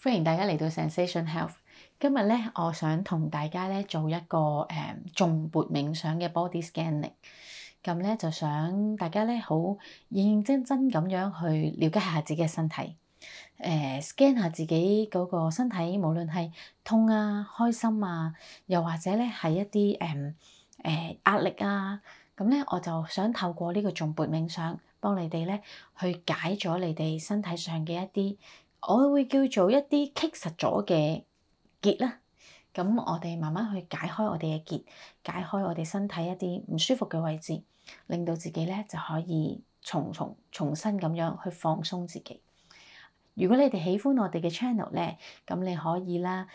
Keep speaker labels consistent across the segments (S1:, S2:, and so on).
S1: 歡迎大家嚟到 Zensation Health。今日咧，我想同大家咧做一個頌缽冥想嘅 body scanning。咁咧就想大家咧好認認真真咁樣去了解下自己嘅身體。scan 下自己嗰個身體，無論係痛啊、開心啊，又或者咧係一啲壓力啊。咁咧我就想透過呢個頌缽冥想，幫你哋咧去解咗你哋身體上嘅一啲，我會叫做一啲棘實咗嘅結啦。咁我哋慢慢去解開我哋嘅結，解開我哋身體一啲唔舒服嘅位置，令到自己咧就可以重新咁樣去放鬆自己。如果你哋喜歡我哋嘅 channel 咧，咁你可以啦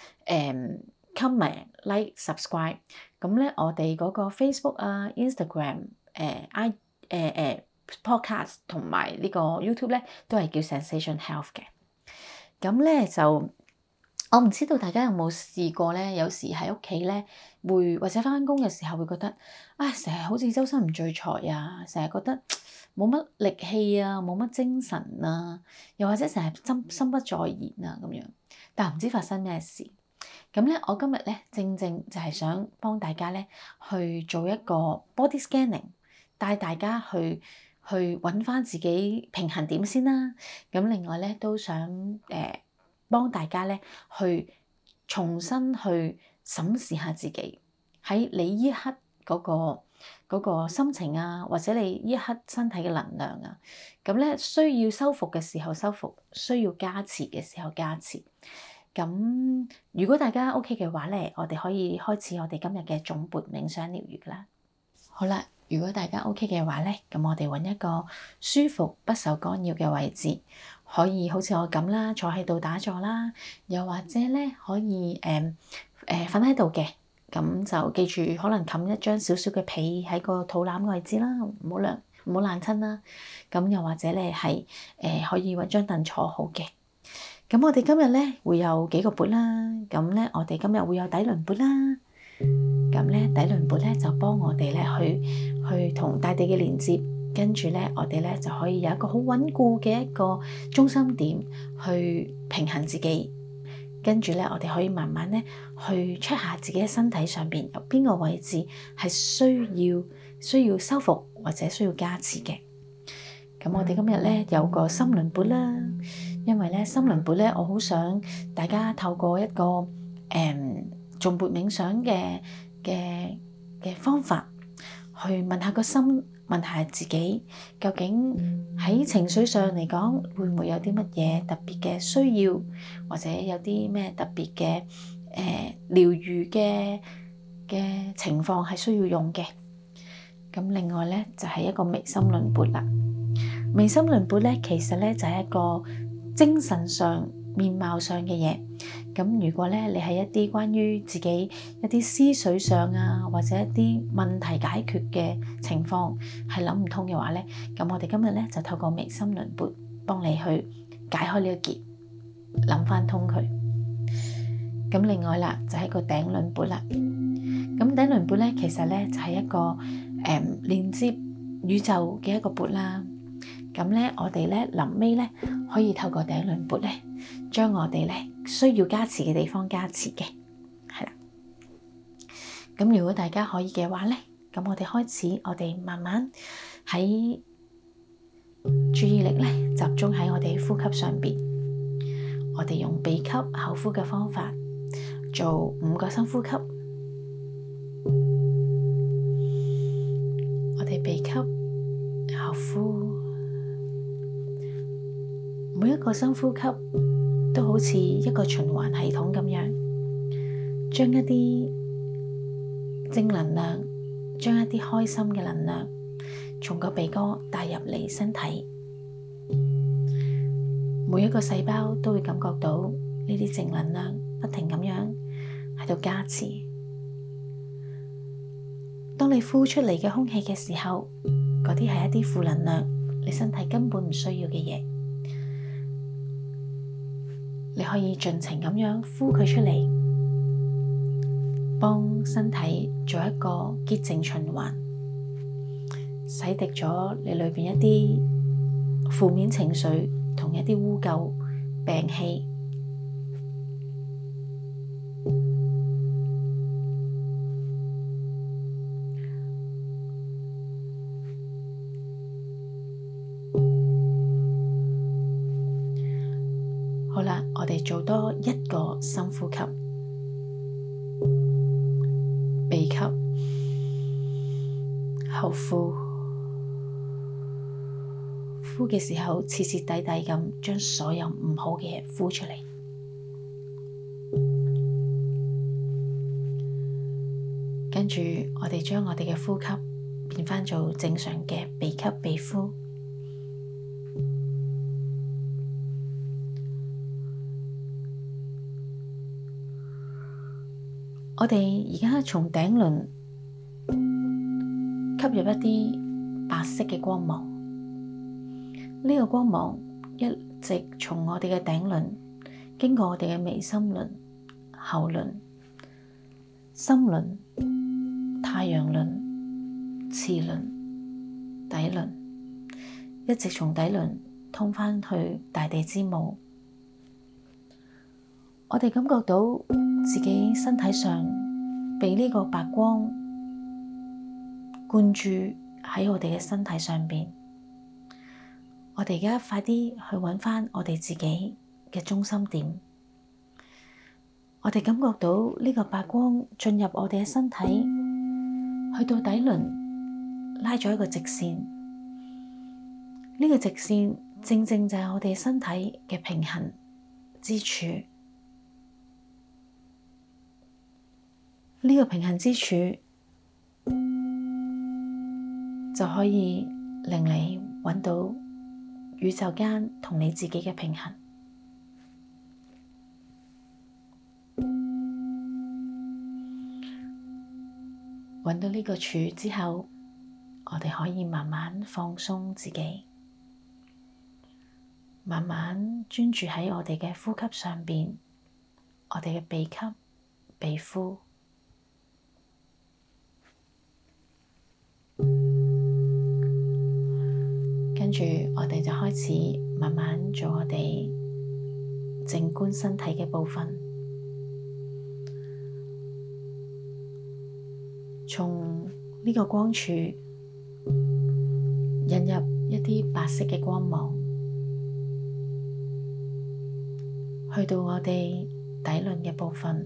S1: comment、like、subscribe。咁咧我哋嗰個 Facebook 啊、Instagram、podcast 同埋呢個 YouTube 咧，都係叫 Zensation Health 嘅。咁咧就我唔知道大家有冇試過咧，有時喺屋企咧會或者返工嘅時候會覺得成日好似周身唔聚財啊，成日覺得冇乜力氣啊，冇乜精神啊，又或者成日心不在焉啊咁樣，但唔知發生咩事。咁咧我今日咧正就係想幫大家咧去做一個 body scanning， 帶大家去揾返自己平衡點先啦。咁另外咧都想幫大家咧去重新去審視下自己喺你依刻嗰個心情啊，或者你依刻身體嘅能量啊。咁咧需要修復嘅時候修復，需要加持嘅時候加持。咁如果大家 OK 嘅話咧，我哋可以開始我哋今日嘅頌缽冥想療癒啦。好啦，如果大家 OK 嘅話咧，咁我哋揾一個舒服不受干擾嘅位置，可以好似我咁啦，坐喺度打坐啦，又或者咧可以瞓喺度嘅。咁就記住，可能冚一張少少嘅被喺個肚腩位置啦，唔好爛親啦。咁又或者咧係可以揾張凳坐好嘅。咁我哋今日咧會有幾個缽啦。咁咧我哋今日會有底輪缽啦。咁咧底輪缽咧就幫我哋咧去同大地嘅連接，跟住咧我哋咧就可以有一個好穩固嘅一個中心點去平衡自己。跟住咧我哋可以慢慢咧去 check 下自己嘅身體上邊有邊個位置係需要修復或者需要加持嘅。咁我哋今日咧有個心輪缽啦，因為咧心輪缽咧我好想大家透過一個頌缽冥想嘅方法去問下個心，問下自己究竟喺情緒上嚟講會唔會有啲乜嘢特別嘅需要，或者有啲咩特別嘅療癒嘅情況係需要用嘅。咁另外咧就係一個微心輪缽啦。微心輪缽咧其實咧就係一個精神上面貌上嘅嘢。咁如果咧你係一啲關於自己一啲思緒上啊，或者一啲問題解決嘅情況係諗唔通嘅話咧，咁我哋今日咧就透過微心輪缽幫你去解開呢個結，諗翻通佢。咁另外啦就係一個頂輪缽啦。咁頂輪缽咧其實咧就係一個連接宇宙嘅一個缽啦。咁咧我哋咧臨尾咧可以透過頂輪缽咧將我哋咧需要加持嘅地方加持嘅，係啦。咁如果大家可以嘅話咧，咁我哋開始，我哋慢慢喺注意力咧集中喺我哋呼吸上邊。我哋用鼻吸口呼嘅方法做5個深呼吸。我哋鼻吸口呼，每一個深呼吸都好似一個循環系統咁樣，將一啲正能量，將一啲開心嘅能量從個鼻哥帶入嚟身體。每一個細胞都會感覺到呢啲正能量不停咁樣喺度加持。當你呼出嚟嘅空氣嘅時候，嗰啲係一啲負能量，你身體根本唔需要嘅嘢。你可以盡情咁樣呼佢出嚟，幫身體做一個潔淨循環，洗滌咗你裏邊一啲負面情緒同一啲污垢、病氣。 我哋做多一個深呼吸，鼻吸，後呼，呼嘅時候徹徹底底咁將所有唔好嘅嘢呼出嚟。跟住我哋將我哋嘅呼吸變返做正常嘅鼻吸鼻呼。我哋而家從頂輪吸入一啲白色嘅光芒，呢個光芒一直從我哋嘅頂輪經過我哋嘅眉心輪、喉輪、心輪、太陽輪、臍輪、底輪，一直從底輪通返去大地之母。我哋感覺到自己身體上被呢個白光灌注喺我哋嘅身體上邊。我哋而家快啲去揾返我哋自己嘅中心點。我哋感覺到呢個白光進入我哋嘅身體，去到底輪拉咗一個直線。呢個直線正正就係我哋身體嘅平衡之處。呢個平衡之處就可以令你揾到宇宙間同你自己嘅平衡。揾到呢個處之後，我哋可以慢慢放鬆自己，慢慢專注喺我哋嘅呼吸上邊，我哋嘅鼻吸鼻呼。跟住我哋就開始慢慢做我哋靜觀身體嘅部分，從呢個光柱引入一啲白色嘅光芒，去到我哋底輪嘅部分，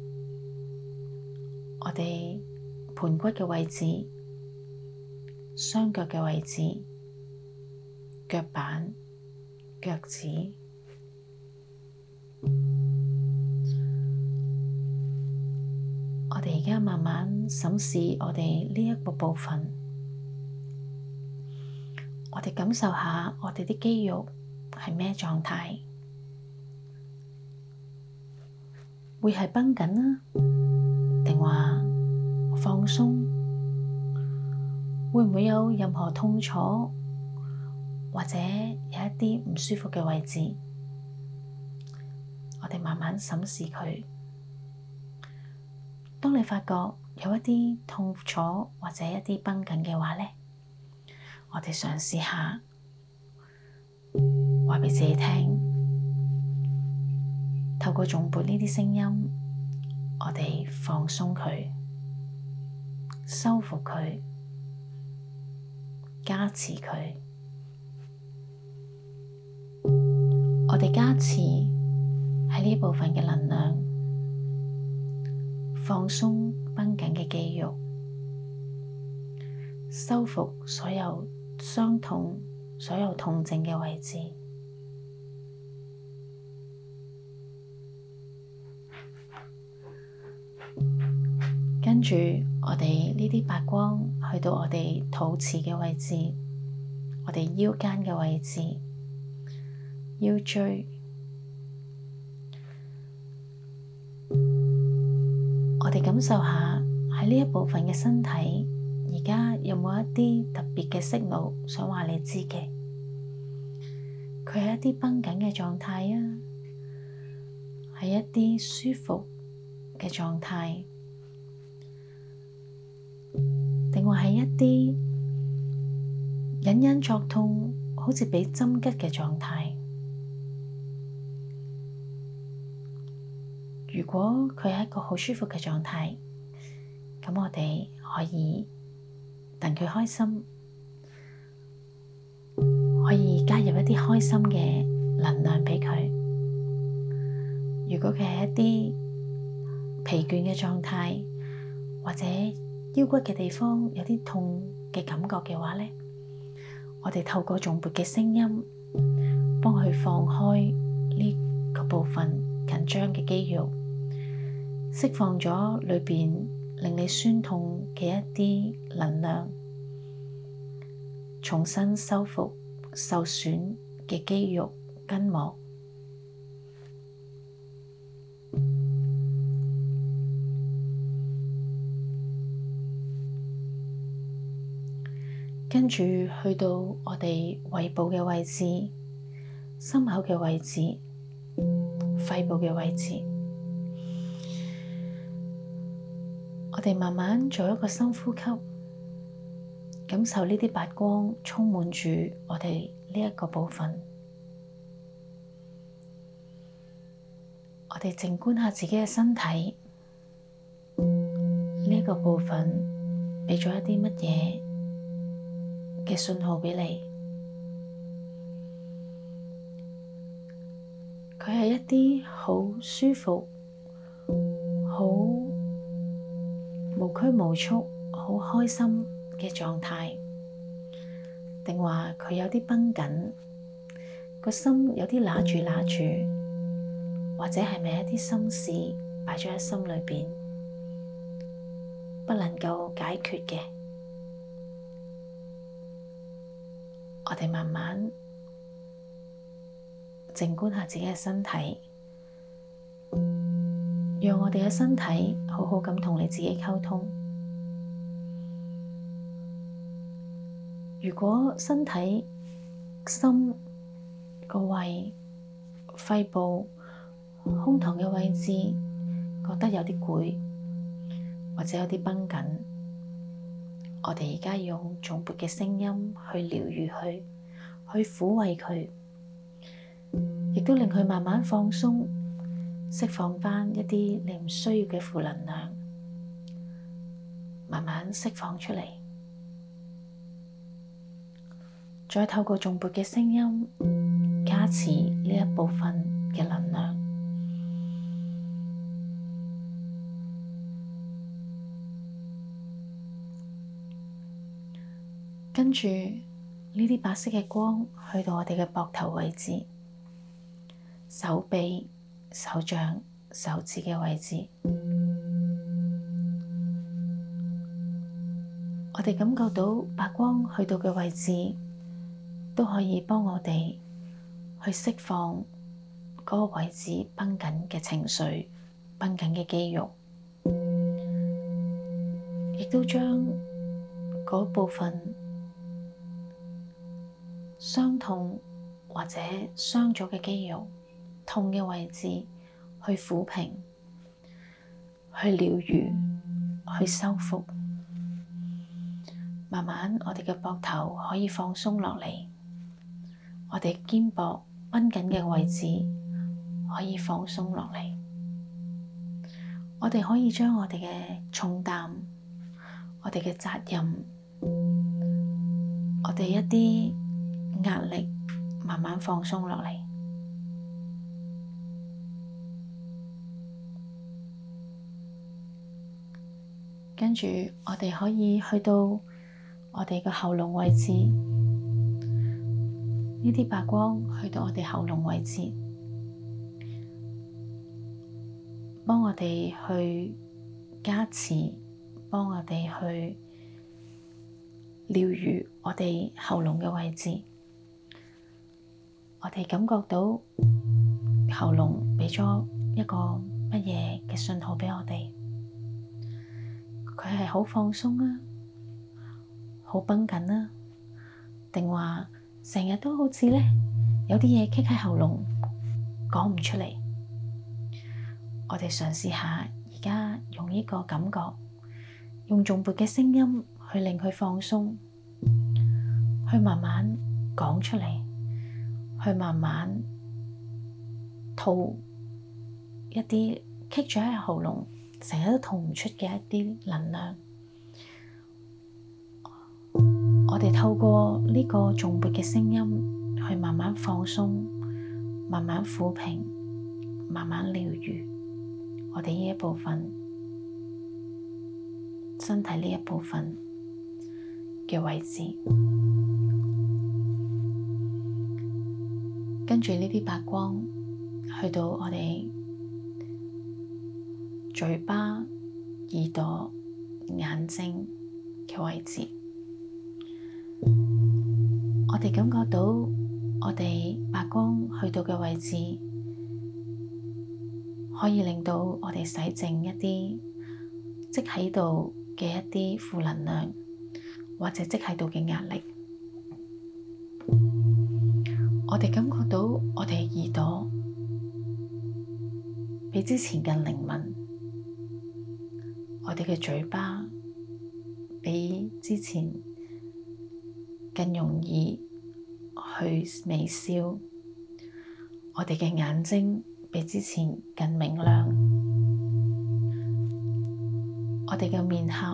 S1: 我哋盤骨嘅位置、雙腳嘅位置、腳板、腳趾，我哋而家慢慢審視我哋呢一個部分，我哋感受下我哋啲肌肉係咩狀態，會係繃緊啊，定話放鬆？會唔會有任何痛楚？或者有一啲唔舒服嘅位置，我哋慢慢審視佢。當你發覺有一啲痛楚或者一啲繃緊嘅話咧，我哋嘗試下話畀自己聽，透過頌缽呢啲聲音，我哋放鬆佢，修復佢，加持佢。我哋加持喺呢部分嘅能量，放鬆繃緊嘅肌肉，修復所有傷痛、所有痛症嘅位置。跟住我哋呢啲白光去到我哋肚臍嘅位置，我哋腰間嘅位置。腰椎，我哋感受下喺呢一部分嘅身體，而家有冇一啲特別嘅訊號想話你知嘅？佢係一啲繃緊嘅狀態啊，係一啲舒服嘅狀態，定話係一啲隱隱作痛，好似被針拮嘅狀態？如果佢係一個好舒服嘅狀態，咁我哋可以戥佢開心，可以加入一啲開心嘅能量畀佢。 如果佢係一啲疲倦嘅狀態，或者腰骨嘅地方有啲痛嘅感覺嘅話呢，我哋透過頌缽嘅聲音，幫佢放開呢個部分緊張嘅肌肉，釋放咗裏邊令你酸痛嘅一啲能量，重新修復受損嘅肌肉筋膜。跟住去到我哋胃部嘅位置、心口嘅位置、肺部嘅位置，我哋慢慢做一個深呼吸，感受呢啲白光充滿住我哋呢一個部分。我哋靜觀下自己嘅身體，呢一個部分畀咗一啲乜嘢嘅信號畀你？佢係一啲好舒服、好無拘無束、好開心嘅狀態，定話佢有啲繃緊，個心有啲揦住，或者係咪一啲心事擺咗喺心裏邊，不能夠解決嘅？我哋慢慢靜觀下自己嘅身體，讓我哋嘅身體好好咁同你自己溝通。如果身體、心、個胃、肺部、胸膛嘅位置覺得有啲攰，或者有啲繃緊，我哋而家用頌缽嘅聲音去療癒佢，去撫慰佢，亦都令佢慢慢放鬆，釋放返一啲你唔需要嘅負能量，慢慢釋放出嚟。再透過頌缽嘅聲音加持呢一部分嘅能量。跟住呢啲白色嘅光去到我哋嘅膊頭位置、手臂、手掌、手指嘅位置，我哋感覺到白光去到嘅位置，都可以幫我哋去釋放嗰個位置繃緊嘅情緒、繃緊嘅肌肉，亦都將嗰部分傷痛或者傷咗嘅肌肉、痛嘅位置去撫平、去療癒、去修復。慢慢我哋嘅膊頭可以放鬆落嚟，我哋肩膊繃緊嘅位置可以放鬆落嚟。我哋可以將我哋嘅重擔、我哋嘅責任、我哋一啲壓力慢慢放鬆落嚟，跟住我哋可以去到我哋嘅喉嚨位置，呢啲白光去到我哋喉嚨位置，幫我哋去加持，幫我哋去療癒我哋喉嚨嘅位置。我哋感覺到喉嚨畀咗一個乜嘢嘅信號畀我哋？佢係好放鬆啊，好繃緊啊，定話成日都好似咧有啲嘢棘喺喉嚨講唔出嚟？我哋嘗試下而家用呢個感覺，用頌缽嘅聲音去令佢放鬆，去慢慢講出嚟。去慢慢吐一啲棘咗喺喉嚨，成日都吐唔出嘅一啲能量。我哋透過呢個頌缽嘅聲音，去慢慢放鬆，慢慢撫平， 慢慢療癒我哋呢一部分身體呢一部分嘅位置，跟住呢啲白光去到我哋嘴巴、耳朵、眼睛嘅位置，我哋感覺到我哋白光去到嘅位置，可以令到我哋洗淨一啲積喺度嘅一啲負能量，或者積喺度嘅壓力。我哋感覺到我哋耳朵比之前更靈敏，我哋嘅嘴巴比之前更容易去微笑，我哋嘅眼睛比之前更明亮，我哋嘅面頰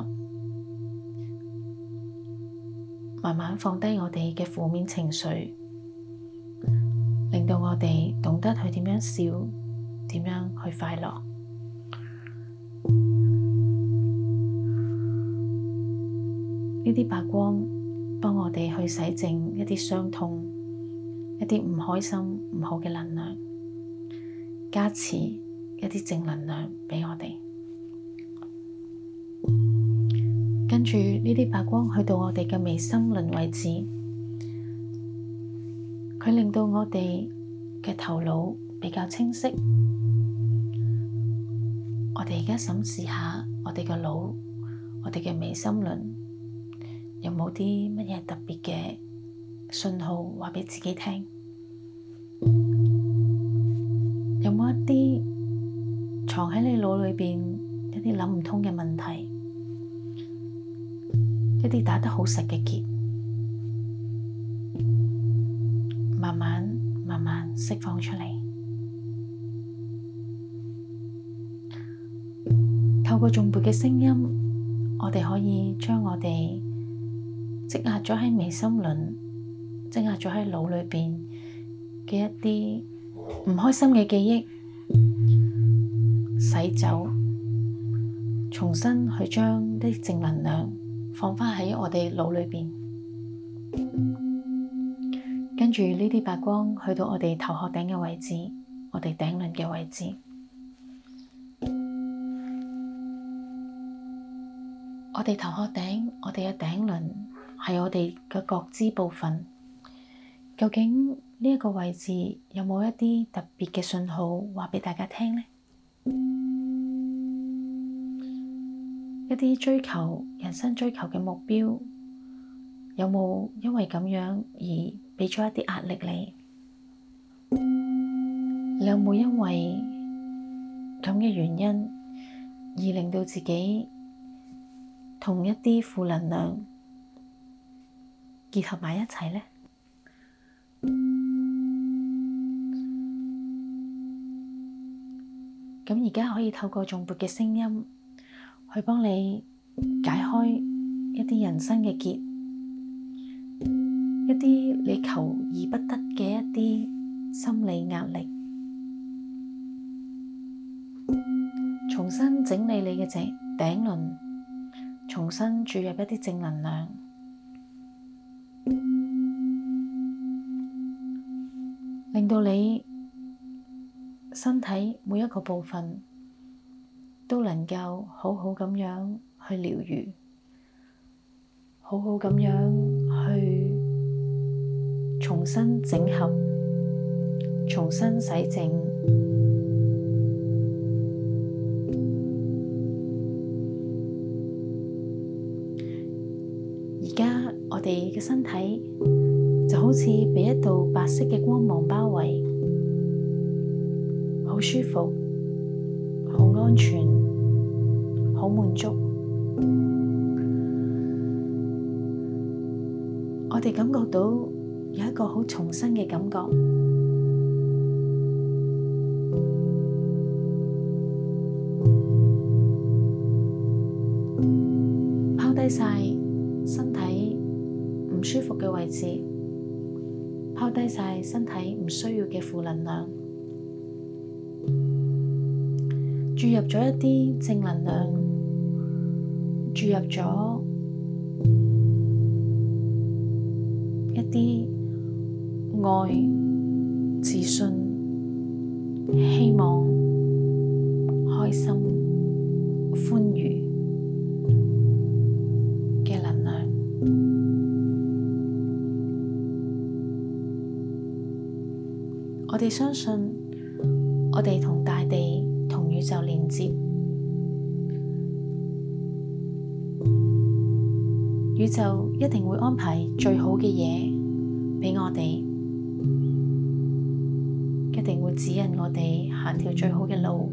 S1: 慢慢放低我哋嘅負面情緒，令到我哋懂得去點樣笑，點樣去快樂。呢啲白光幫我哋去洗淨一啲傷痛，一啲唔開心、唔好嘅能量，加持一啲正能量畀我哋。跟住呢啲白光去到我哋嘅眉心輪位置，佢令到我哋嘅頭腦比較清晰。我哋而家審視下我哋嘅腦，我哋嘅眉心輪有冇啲乜嘢特別嘅信號話畀自己聽？有冇一啲藏喺你腦裏邊一啲諗唔通嘅問題，一啲打得好實嘅結，慢慢釋放出嚟。透過頌缽嘅聲音，我哋可以將我哋積壓咗喺眉心輪、積壓咗喺腦裏邊嘅一啲唔開心嘅記憶洗走，重新去將啲正能量放返喺我哋腦裏邊。跟住呢啲白光去到我哋頭殼頂嘅位置，我哋頂輪嘅位置。我哋頭殼頂，我哋嘅頂輪係我哋嘅覺知部分。究竟呢一個位置有冇一啲特別嘅信號話畀大家聽呢？一啲追求人生追求嘅目標，有冇因為咁樣而畀咗一啲壓力你？你有冇因為咁嘅原因而令到自己同一啲負能量結合埋一齊呢？咁而家可以透過頌缽嘅聲音去幫你解開一啲人生嘅結，一啲你求而不得嘅一啲心理壓力，重新整理你嘅頂輪，重新注入一啲正能量，令到你身體每一個部分都能夠好好咁樣去療癒，好好咁樣去重新整合，重新洗淨。而家我哋嘅身體就好似被一道白色嘅光芒包圍，好舒服，好安全，好滿足。我哋感覺到有一個好重新嘅感覺，拋低晒身體唔舒服嘅位置，拋低晒身體唔需要嘅負能量。 注入咗一啲正能量，注入咗一啲愛、自信、希望、開心、歡愉嘅能量。我哋相信，我哋同大地、同宇宙連接，宇宙一定會安排最好嘅嘢畀我哋，一定會指引我哋行條最好嘅路。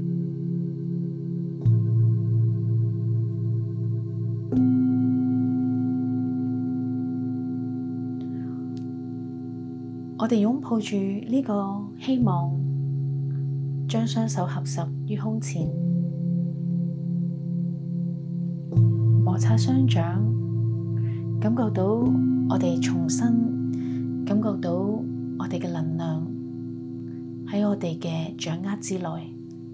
S1: 我哋擁抱住呢個希望，將雙手合十於胸前，摩擦雙掌，感覺到我哋重新感覺到我哋嘅能量喺我哋嘅掌握之內。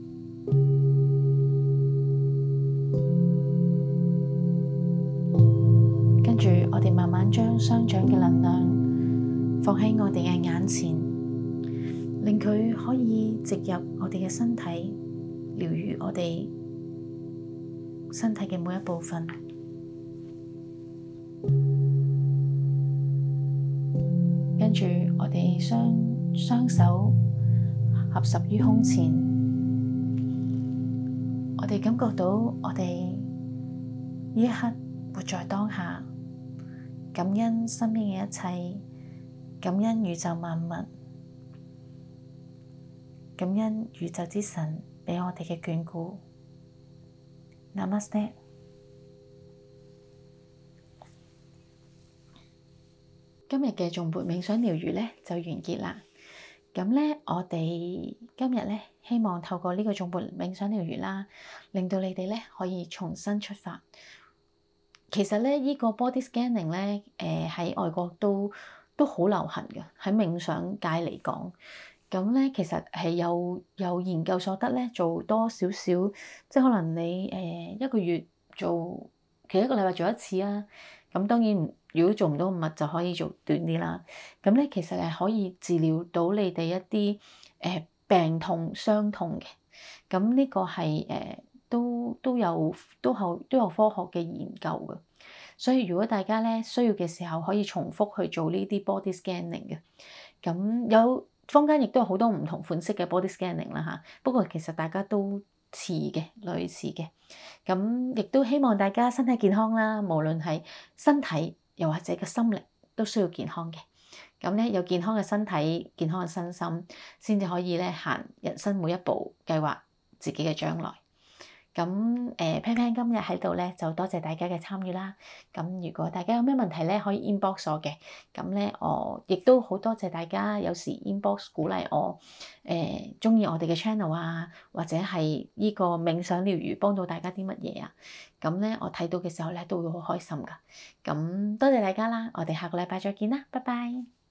S1: 跟住我哋慢慢將雙掌嘅能量放喺我哋嘅眼前，令佢可以植入我哋嘅身體，療癒我哋身體嘅每一部分。跟住我哋雙手合十於胸前，我哋感覺到我哋呢一刻活在當下，感恩身邊嘅一切，感恩宇宙萬物，感恩宇宙之神畀我哋嘅眷顧。Namaste。今日嘅頌缽冥想療癒咧就完結啦。咁咧，我哋今日咧希望透過呢個頌缽冥想療癒啦，令到你哋咧可以重新出發。其實咧，呢個 body scanning 咧，喺外國都好流行嘅，喺冥想界嚟講。咁咧，其實係有研究所得咧，做多少少，即係可能你一個月做，其實一個禮拜做一次啊。咁當然，如果做唔到咁密，就可以做短啲啦。咁咧，其實係可以治療到你哋一啲病痛、傷痛嘅。咁呢個係都有科學嘅研究嘅。所以如果大家咧需要嘅時候，可以重複去做呢啲 body scanning 嘅。咁有坊間亦都有好多唔同款式嘅 body scanning 啦嚇。不過其實大家都似嘅，類似嘅。咁亦都希望大家身體健康啦，無論係身體又或者個心靈都需要健康嘅。咁咧有健康嘅身體、健康嘅身心，先至可以咧行人生每一步，計劃自己嘅將來。咁Pan 今日喺度咧，就多謝大家嘅參與啦。咁如果大家有咩問題咧，可以 inbox 我嘅。咁咧我亦都好多謝大家有時 inbox 鼓勵我，鍾意我哋嘅 channel 啊，或者係呢個冥想療癒幫到大家啲乜嘢啊。咁咧我睇到嘅時候咧，都會好開心噶。咁多謝大家啦，我哋下個禮拜再見啦，拜拜。